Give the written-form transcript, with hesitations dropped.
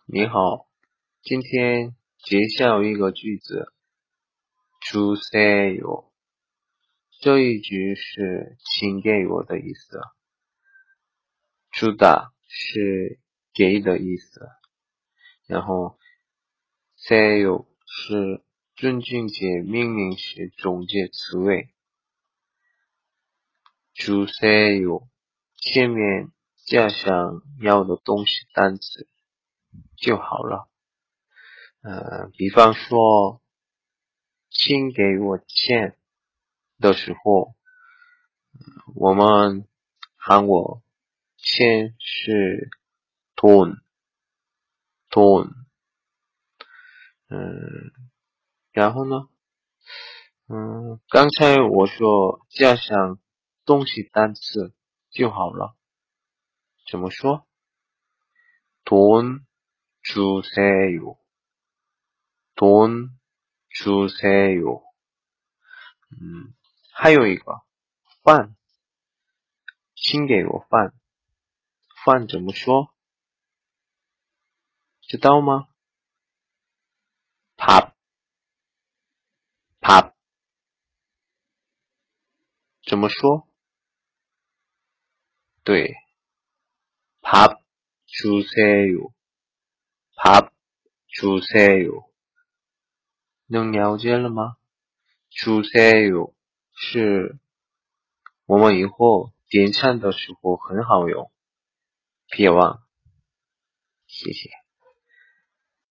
你好，今天介绍一个句子，주세요。这一句是请给我的意思，주다是给的意思，然后세요是尊敬且命令时中介词尾，주세요前面加上要的东西单词就好了。比方说，请给我钱的时候，我们韩国钱是돈，然后呢，刚才我说加上东西单词就好了，怎么说？돈 주세요，돈 주세요。还有一个饭，请给我饭，饭怎么说？知道吗？밥，怎么说？对，밥 주세요，밥 주세요。能了解了吗？주세요是我们以后点餐的时候很好用，别忘，谢谢。